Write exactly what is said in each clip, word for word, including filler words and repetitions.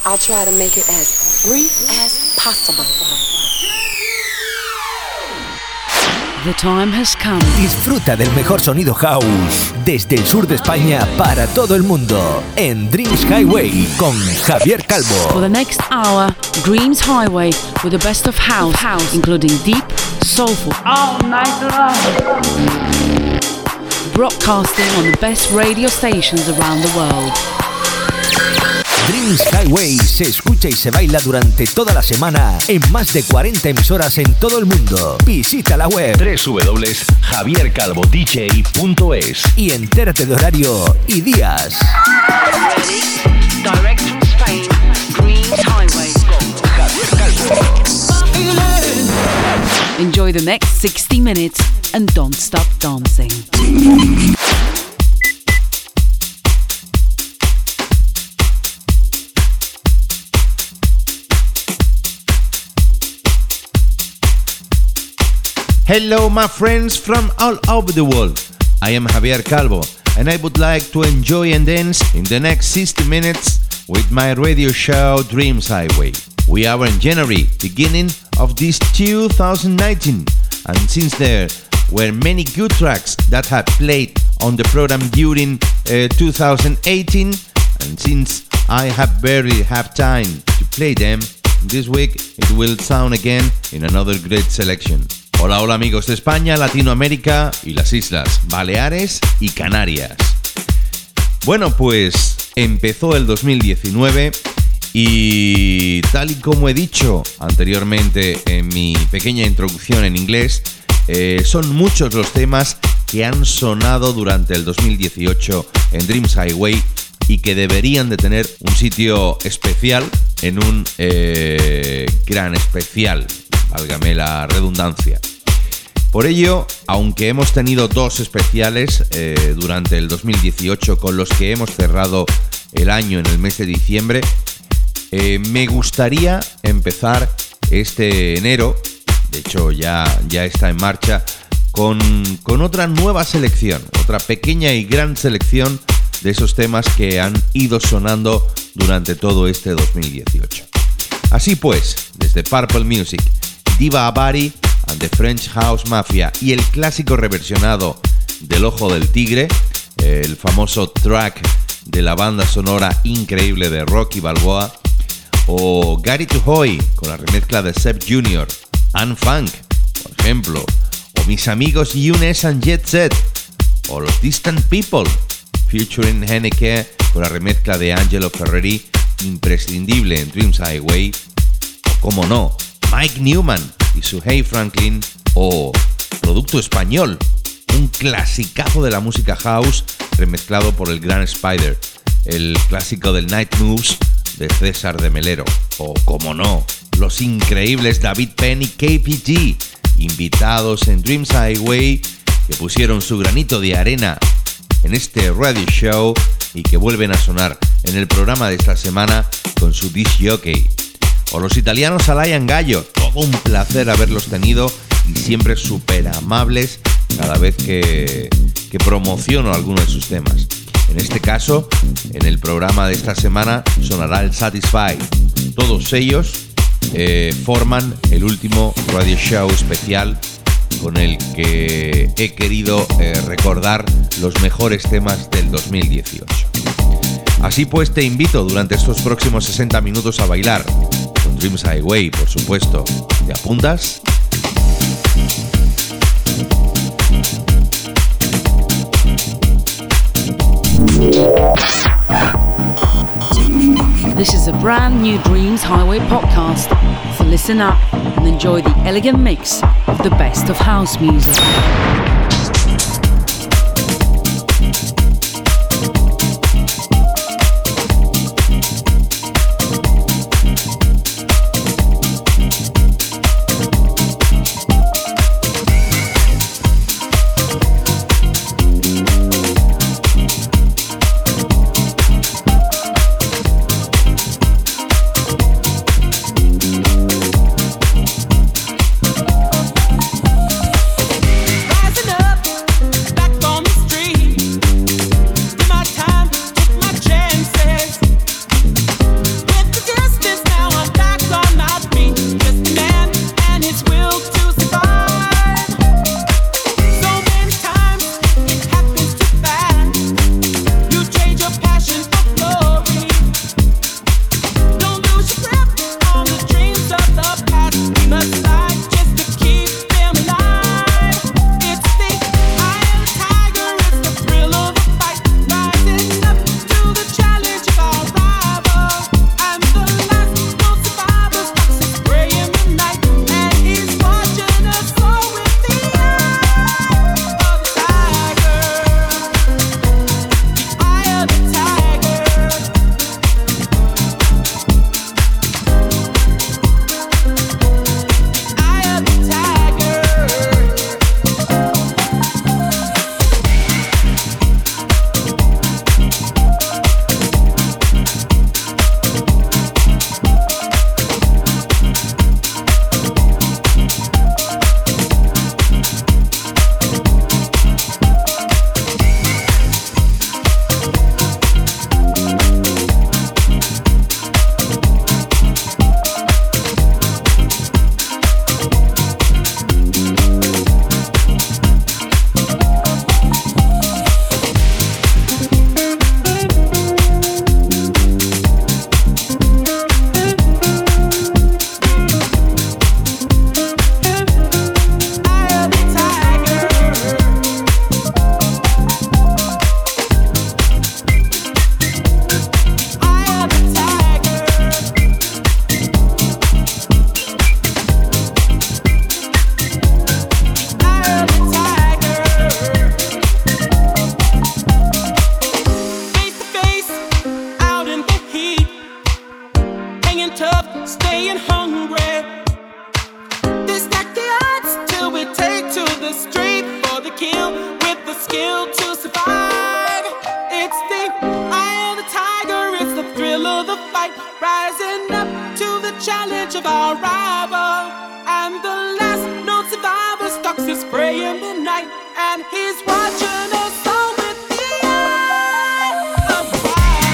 I'll try to make it as brief as possible. The time has come. Disfruta del mejor sonido house desde el sur de España para todo el mundo en Dreams Highway con Javier Calvo. For the next hour, Dreams Highway with the best of house, house including deep, soulful, all night long. Broadcasting on the best radio stations around the world. Dreams Highway se escucha y se baila durante toda la semana en más de cuarenta emisoras en todo el mundo. Visita la web doble u doble u doble u punto javier calvo d j punto es y entérate de horario y días. Direct from Spain, Dreams Highway. Javier Calvo. Enjoy the next sixty minutes and don't stop dancing. Hello, my friends from all over the world. I am Javier Calvo, and I would like to enjoy and dance in the next sixty minutes with my radio show Dreams Highway. We are in January, beginning of this two thousand nineteen, and since there were many good tracks that have played on the program during uh, two thousand eighteen, and since I have barely have time to play them, this week it will sound again in another great selection. Hola, hola amigos de España, Latinoamérica y las Islas Baleares y Canarias. Bueno, pues empezó el dos mil diecinueve y tal y como he dicho anteriormente en mi pequeña introducción en inglés, eh, son muchos los temas que han sonado durante el dos mil dieciocho en Dreams Highway y que deberían de tener un sitio especial en un eh, gran especial, válgame la redundancia. Por ello, aunque hemos tenido dos especiales eh, durante el dos mil dieciocho con los que hemos cerrado el año en el mes de diciembre, eh, me gustaría empezar este enero, de hecho ya, ya está en marcha, con, con otra nueva selección, otra pequeña y gran selección de esos temas que han ido sonando durante todo este dos mil dieciocho. Así pues, desde Purple Music, Diva Abari and the French House Mafia y el clásico reversionado del Ojo del Tigre, el famoso track de la banda sonora increíble de Rocky Balboa, o Gary Tuhoy con la remezcla de Seb junior, Anne Funk, por ejemplo, o mis amigos Younes and Jet Set, o los Distant People, featuring Henneke con la remezcla de Angelo Ferreri, imprescindible en Dreams Highway, o como no, Mike Newman y su Hey Franklin, o producto español, un clasicazo de la música house remezclado por el gran Spider, el clásico del Night Moves de César de Melero, o como no, los increíbles David Penn y K P G, invitados en Dreams Highway, que pusieron su granito de arena en este radio show y que vuelven a sonar en el programa de esta semana con su disc jockey. O los italianos Alain Gallo, todo un placer haberlos tenido y siempre súper amables cada vez que, que promociono alguno de sus temas. En este caso, en el programa de esta semana sonará el Satisfy. Todos ellos eh, forman el último radio show especial con el que he querido eh, recordar los mejores temas del dos mil dieciocho. Así pues, te invito durante estos próximos sesenta minutos a bailar con Dreams Highway, por supuesto. ¿Te apuntas? This is a brand new Dreams Highway podcast, so listen up and enjoy the elegant mix of the best of house music. Rising staying tough, staying hungry. They stack the odds till we take to the street for the kill with the skill to survive. It's the eye of the tiger, it's the thrill of the fight, rising up to the challenge of our rival. And the last known survivor stalks his prey in the night, and he's watching us all with the eye of the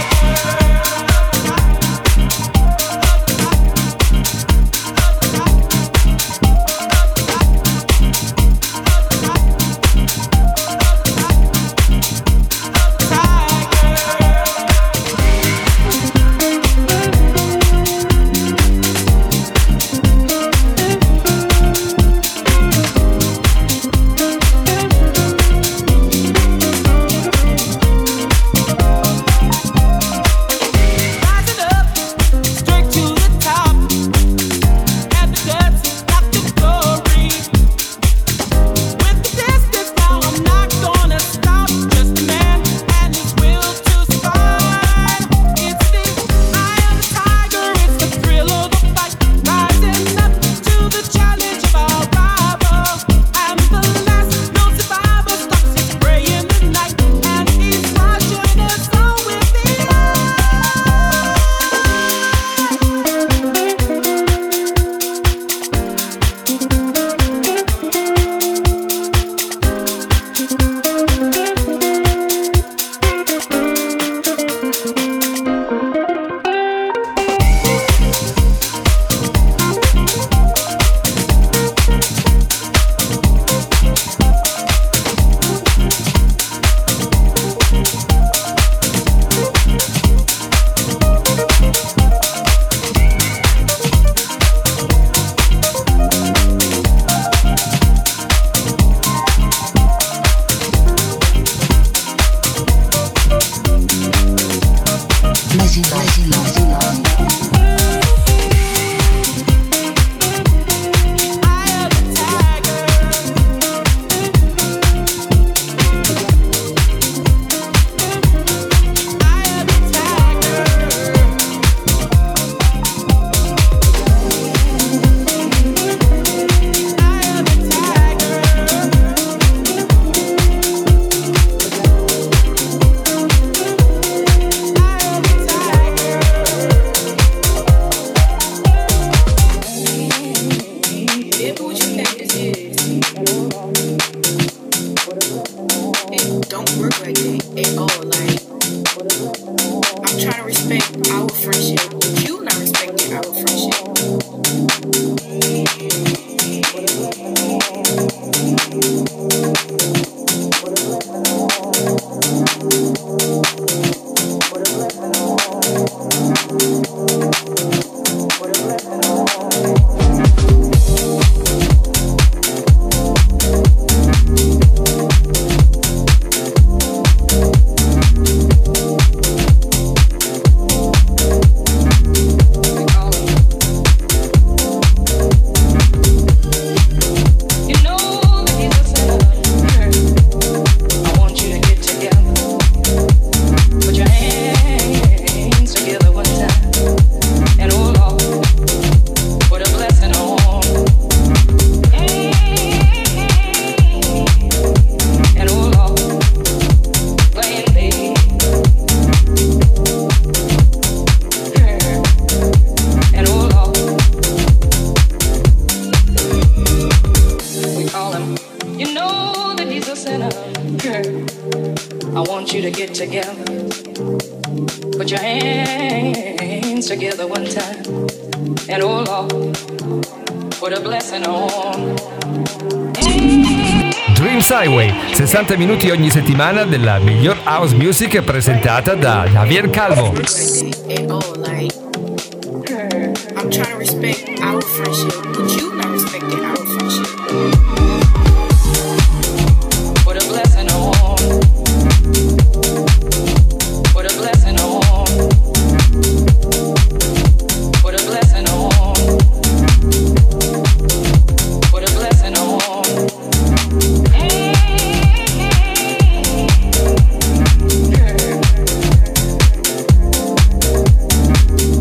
Dreams Highway, sessanta minuti ogni settimana della miglior house music presentata da Javier Calvo. I'm trying to respect our friendship, but you not respecting our friendship. What a blessing on. What a blessing on. What a blessing on. What a blessing on. Hey, girl.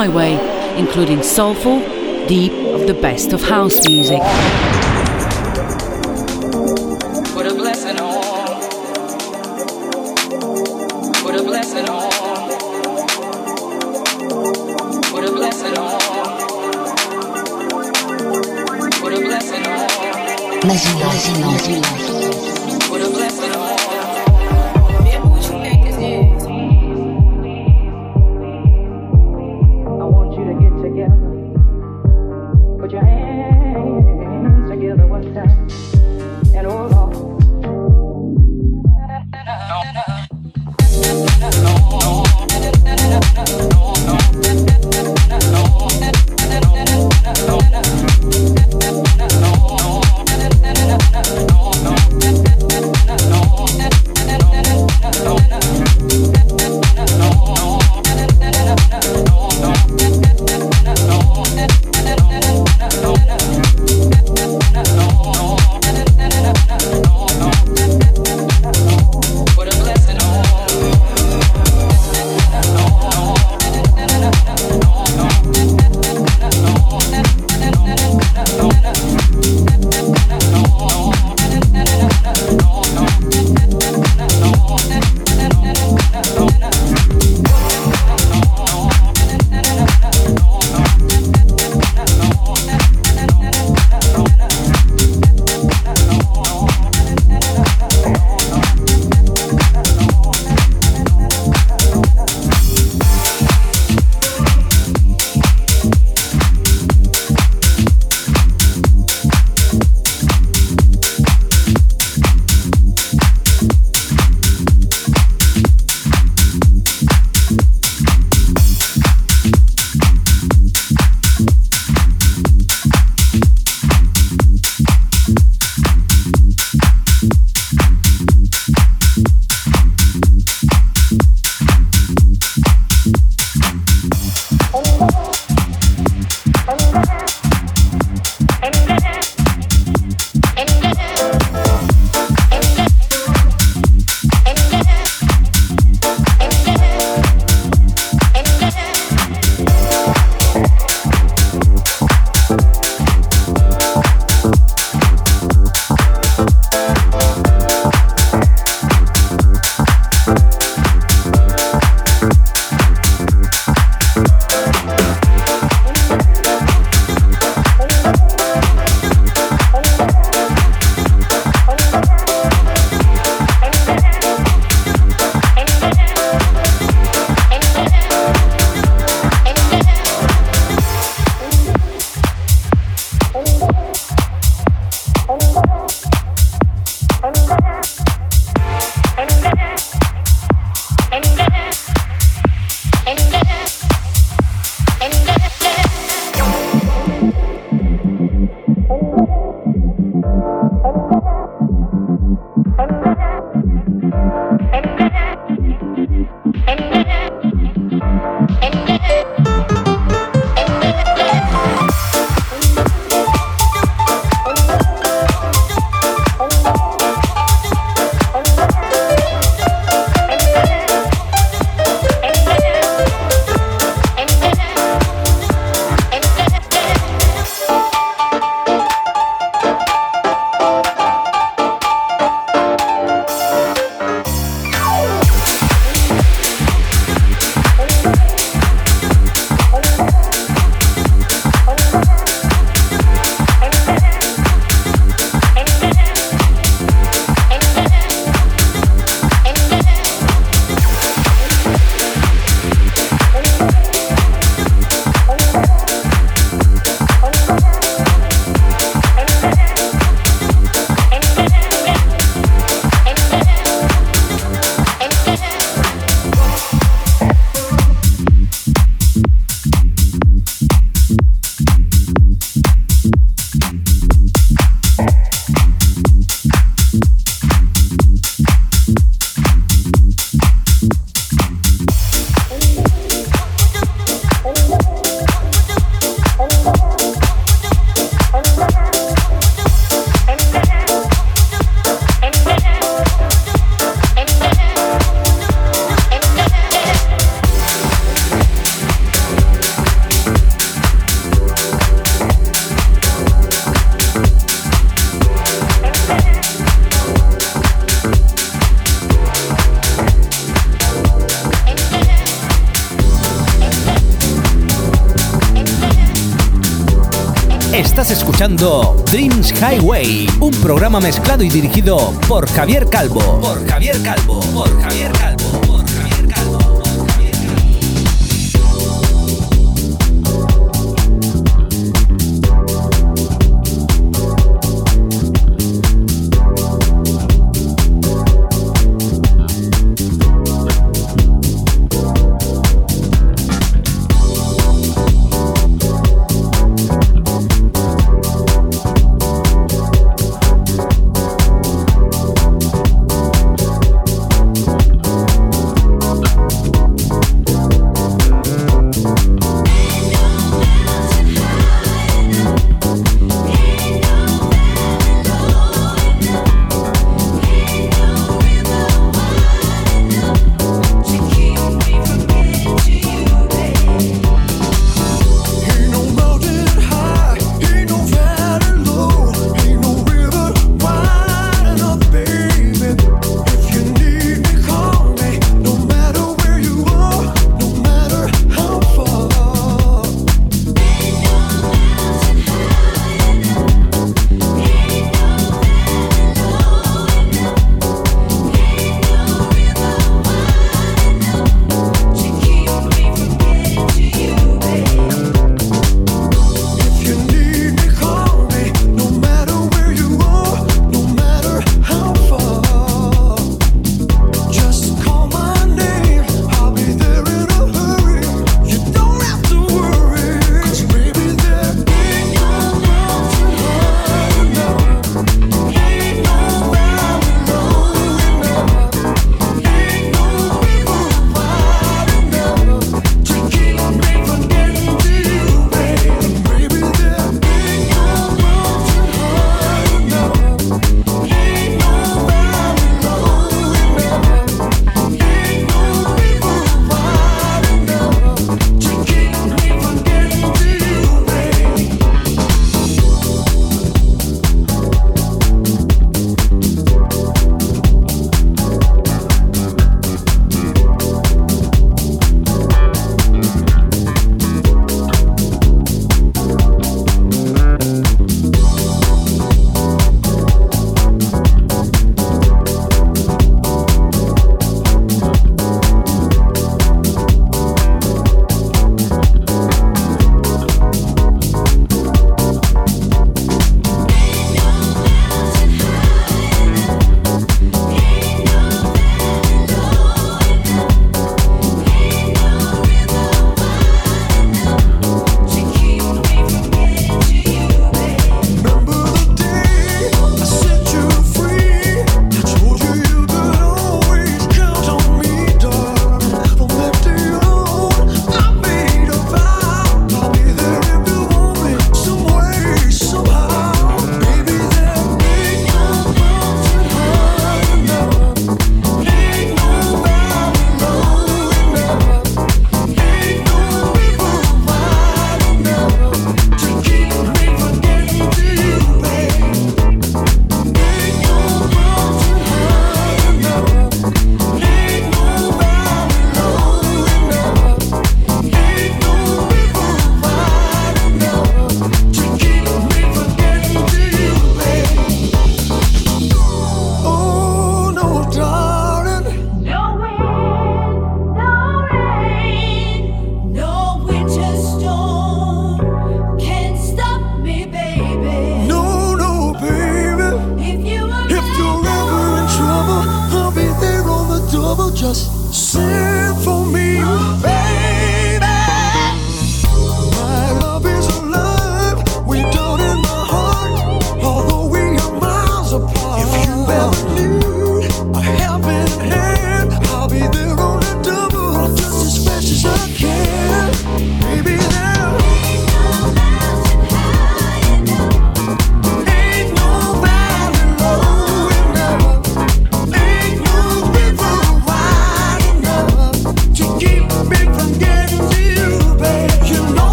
Highway, including soulful, deep of the best of house music. Put a blessing on. Put a blessing on. Put a blessing on. Put a blessing on. Magie, magie, magie. Put a blessing on. I want you to get together. Put your hands together one time. And hold on. No. Estás escuchando Dreams Highway, un programa mezclado y dirigido por Javier Calvo. Por Javier Calvo, por Javier Calvo, por Javier Calvo.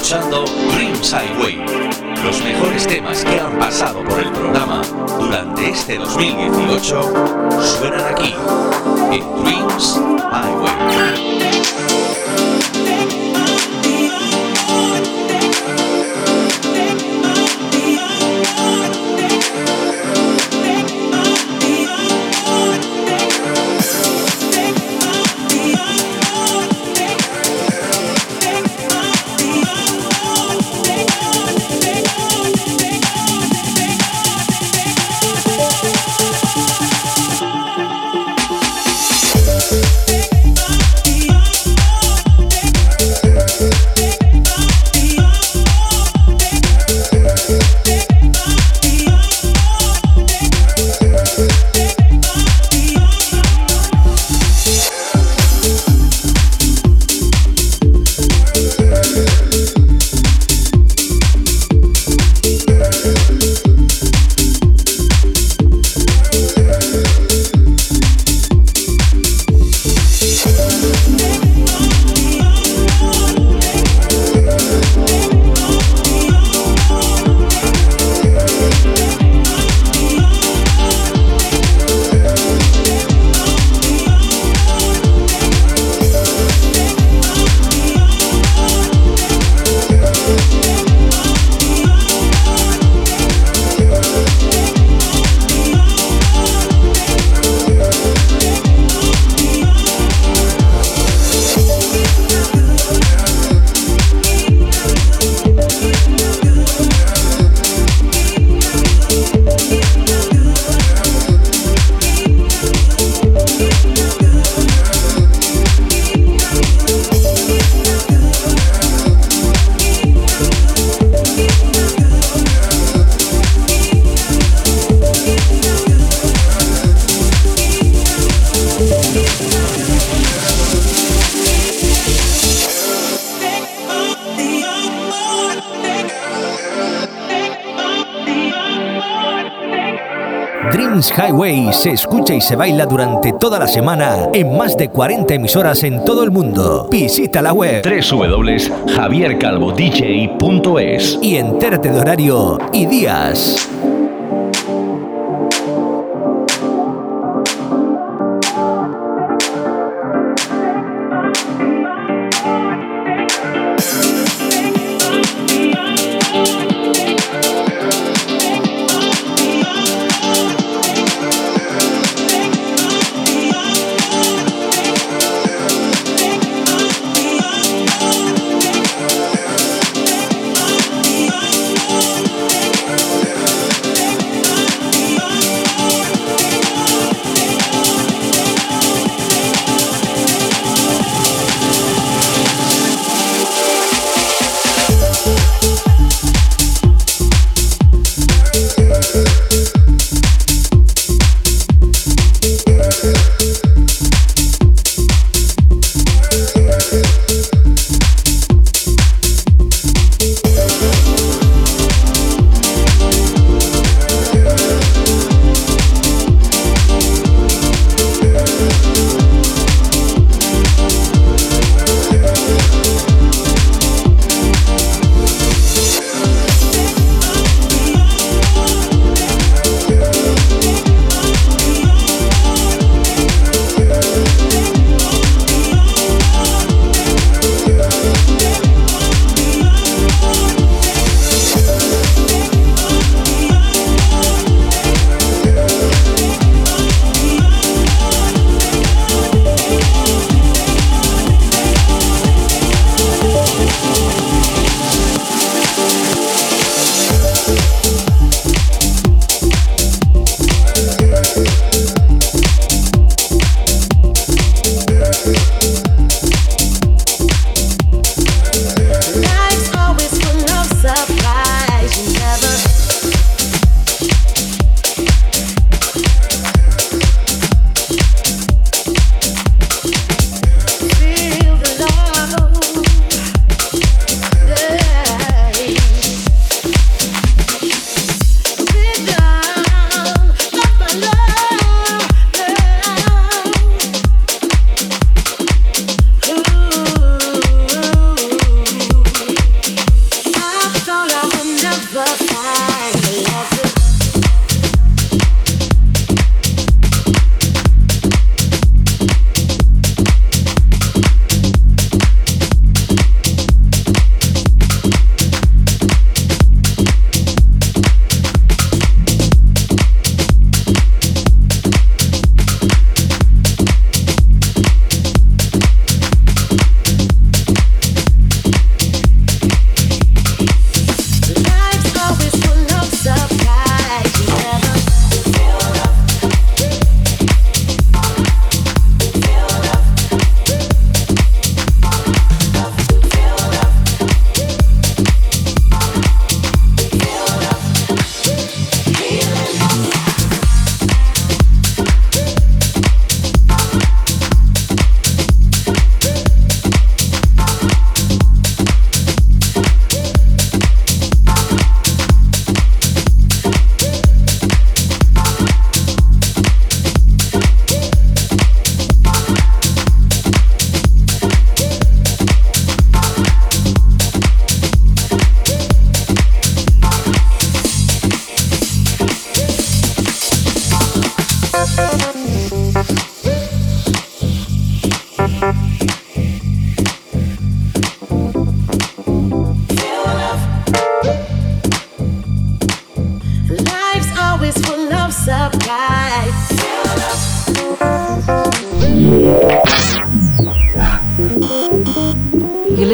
escuchando Dreams Highway, los mejores temas que han pasado por el programa durante este dos mil dieciocho suenan aquí en Dreams Highway. Dreams Highway se escucha y se baila durante toda la semana en más de cuarenta emisoras en todo el mundo. Visita la web doble u doble u doble u punto javier calvo d j punto es y entérate de horario y días.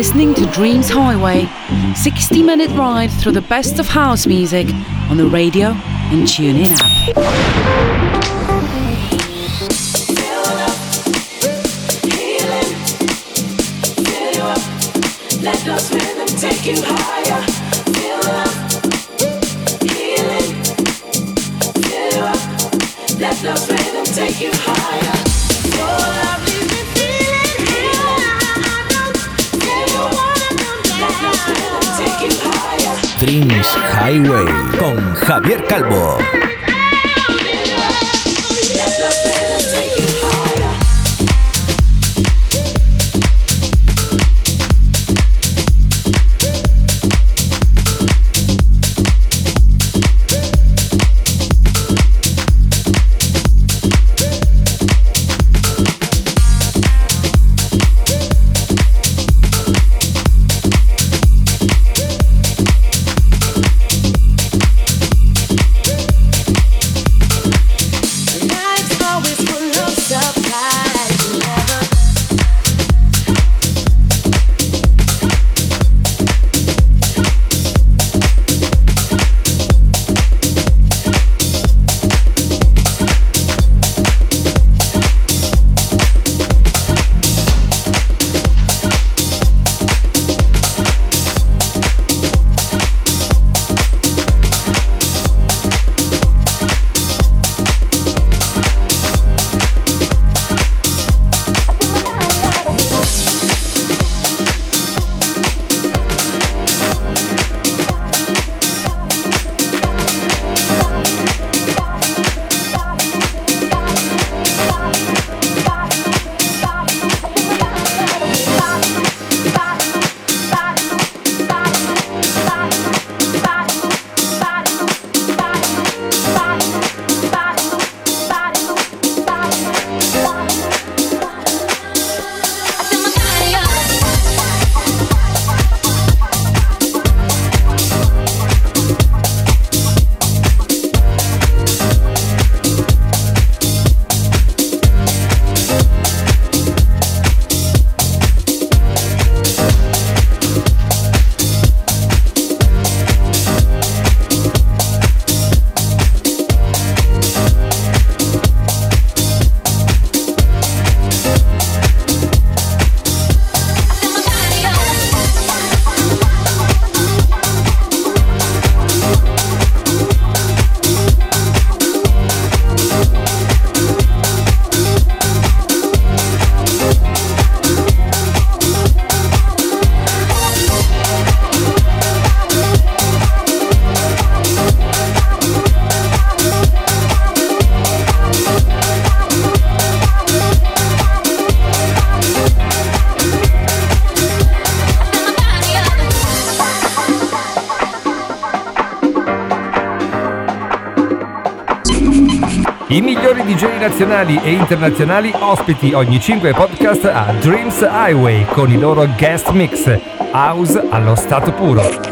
listening to Dreams Highway, sixty minute ride through the best of house music on the radio and TuneIn app. Let those rhythms take you higher. Feel up, healing. Feel up. Let those rhythms take you higher. Feel up, leave me feeling higher. Feel you wanna come down. Let those rhythms take you higher. Dreams Highway con Javier Calvo. Let those rhythms take you higher. I migliori D J nazionali e internazionali ospiti ogni cinque podcast a Dreams Highway con i loro guest mix, house allo stato puro.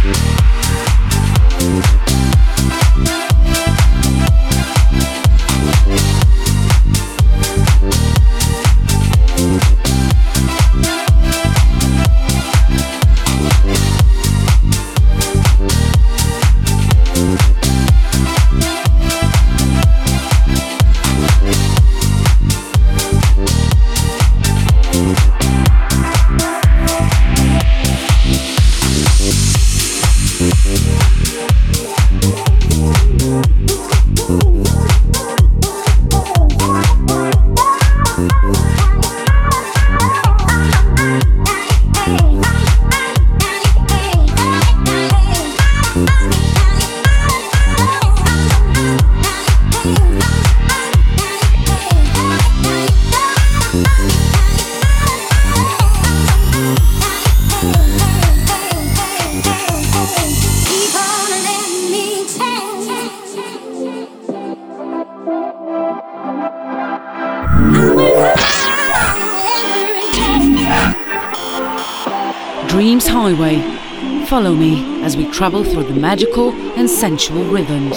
Dreams Highway. Follow me as we travel through the magical and sensual rhythms.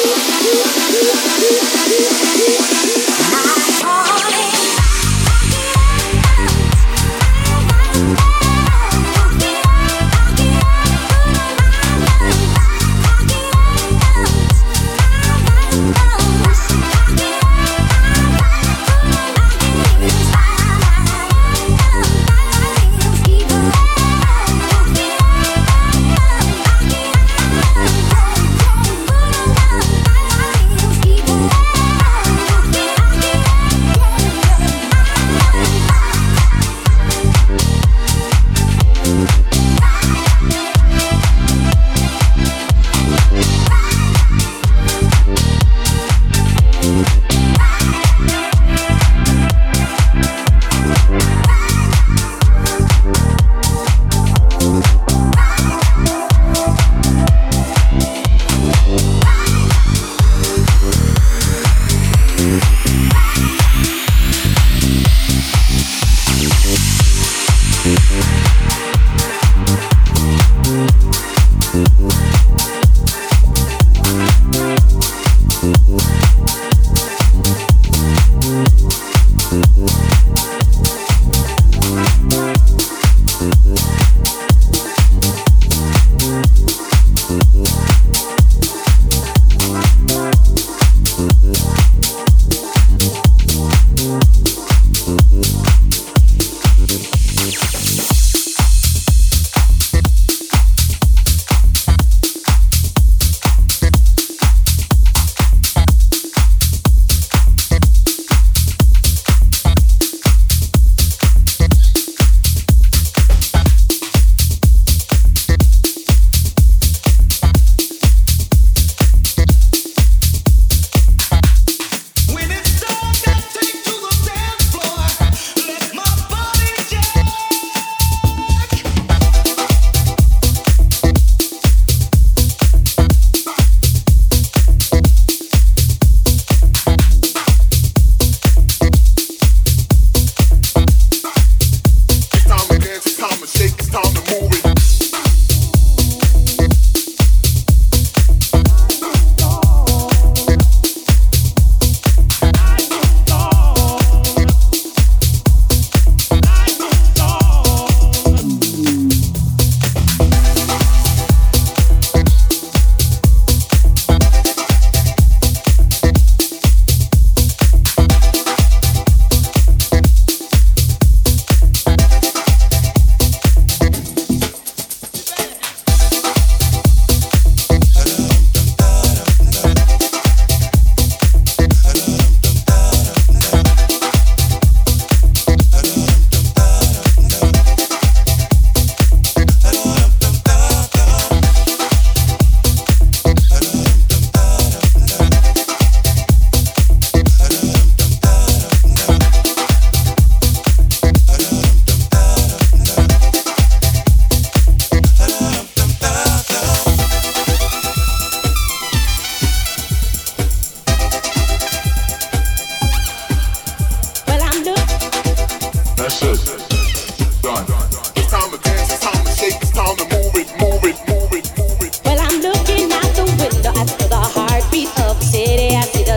My calling, I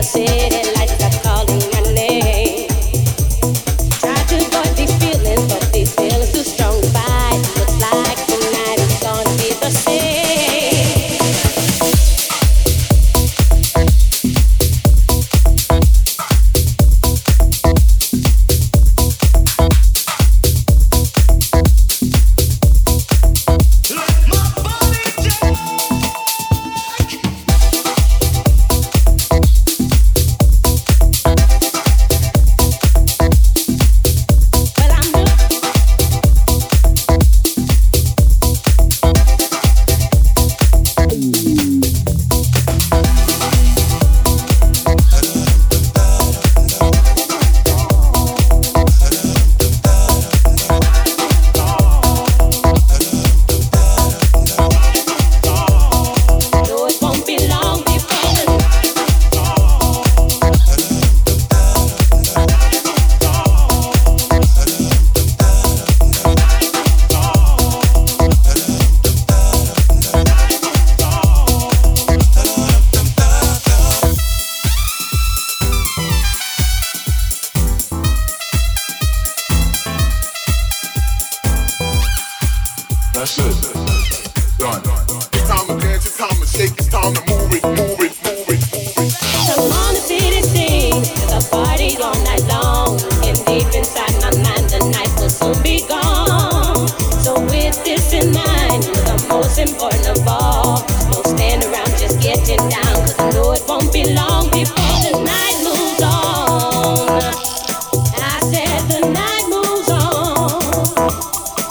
That's it. Done. It's time to dance, it's time to shake, it's time to move it, move it, move it, move it. Come on, the city sings, there's a party all night long. And deep inside my mind, the night will soon be gone. So with this in mind, the most important of all, don't stand around just getting down, cause I know it won't be long before the night moves on. I said the night moves on.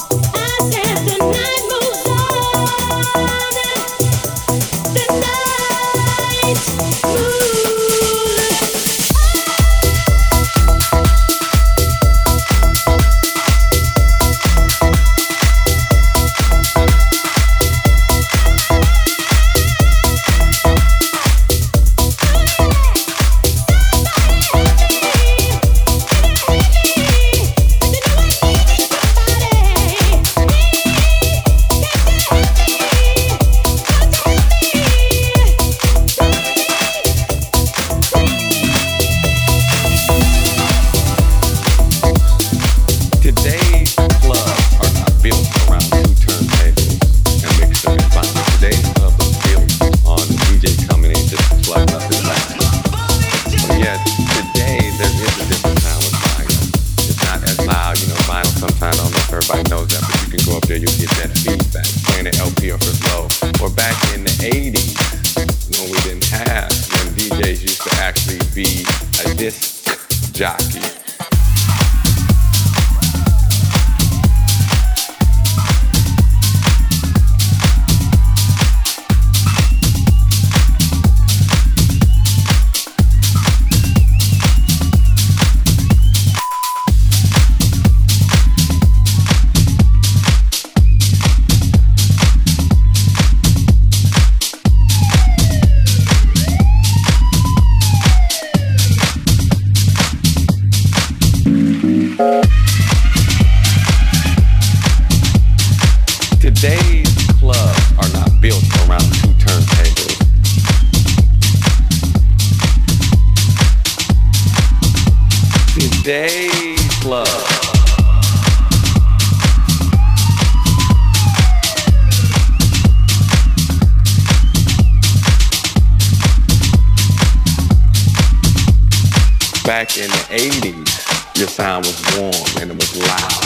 Back in the eighties, your sound was warm and it was loud.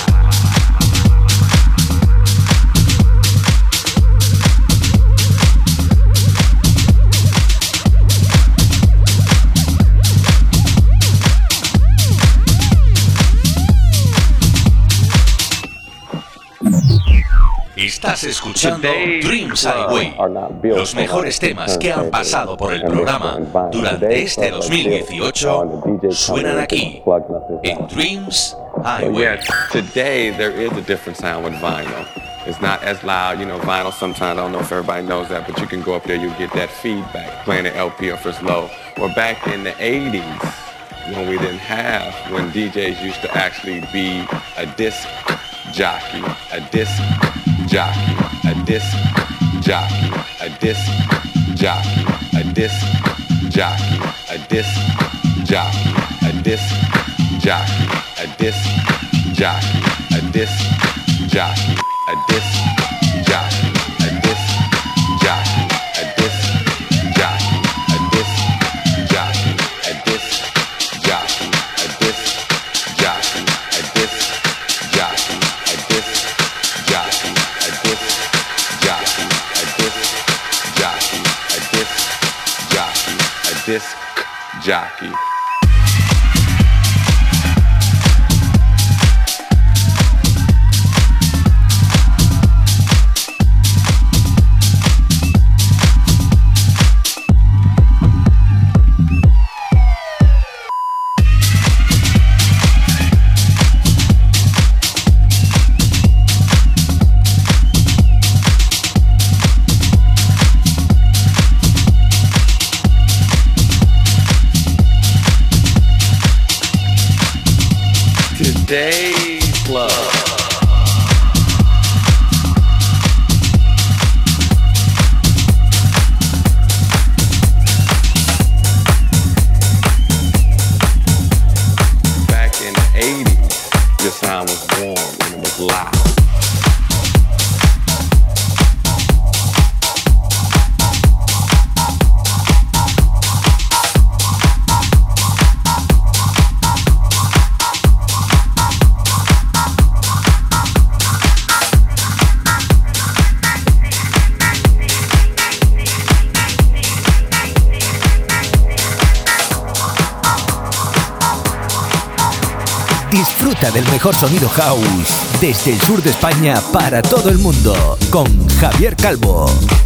Estás escuchando Dreams Highway, los mejores temas que han pasado por el programa durante este dos mil dieciocho suenan aquí en Dreams Highway. Today there is a different sound with vinyl. It's not as loud, you know, vinyl sometimes, I don't know if everybody knows that, but you can go up there, you get that feedback, playing an L P or if it's low. Or back in the eighties, when we didn't have, when D Js used to actually be a disc jockey, a disc jockey, a disc jockey, a disc jockey, a disc jockey, a disc jockey, a disc jockey, a disc jockey, a disc jockey, a disc jockey, a disc jockey, a disc jockey, a disc jockey, a disc jockey, a disc jockey, a disc jockey, a disc jockey, a disc jockey, a disc jockey, a disc jockey, a disc jockey. Today's love. Back in the eighties, this sound was warm and it was loud. Disfruta del mejor sonido house desde el sur de España para todo el mundo con Javier Calvo.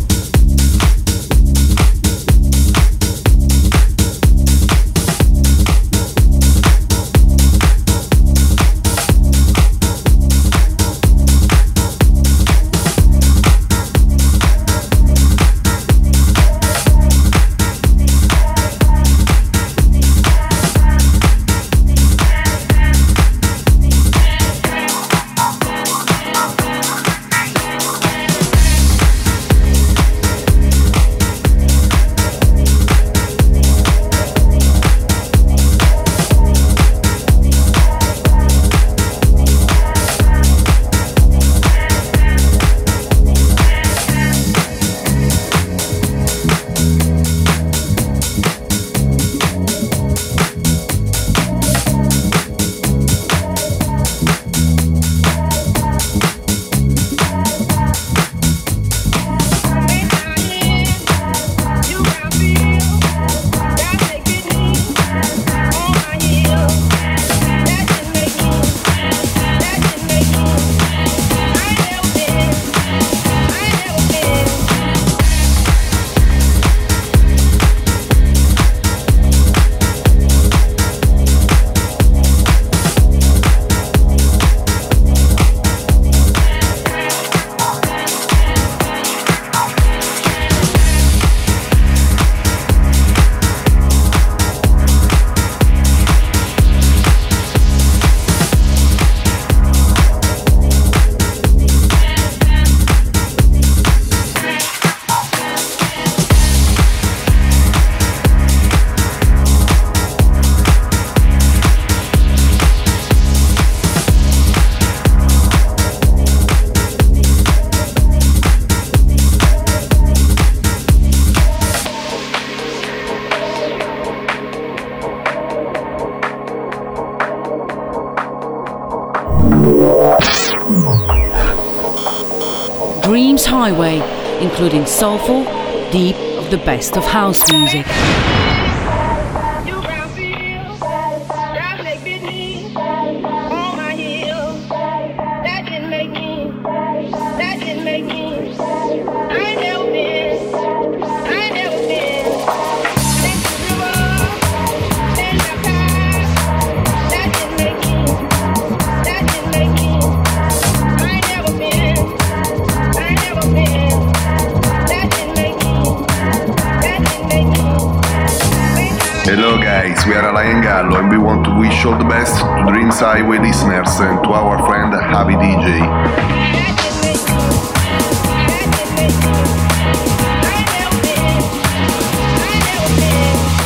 Dreams Highway, including soulful, deep of the best of house music. Hello guys, we are Alain Gallo and we want to wish all the best to Dreams Highway listeners and to our friend Javi D J. I never been, I never been.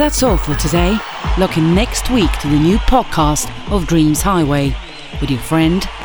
that's all for today. Look in next week to the new podcast of Dreams Highway with your friend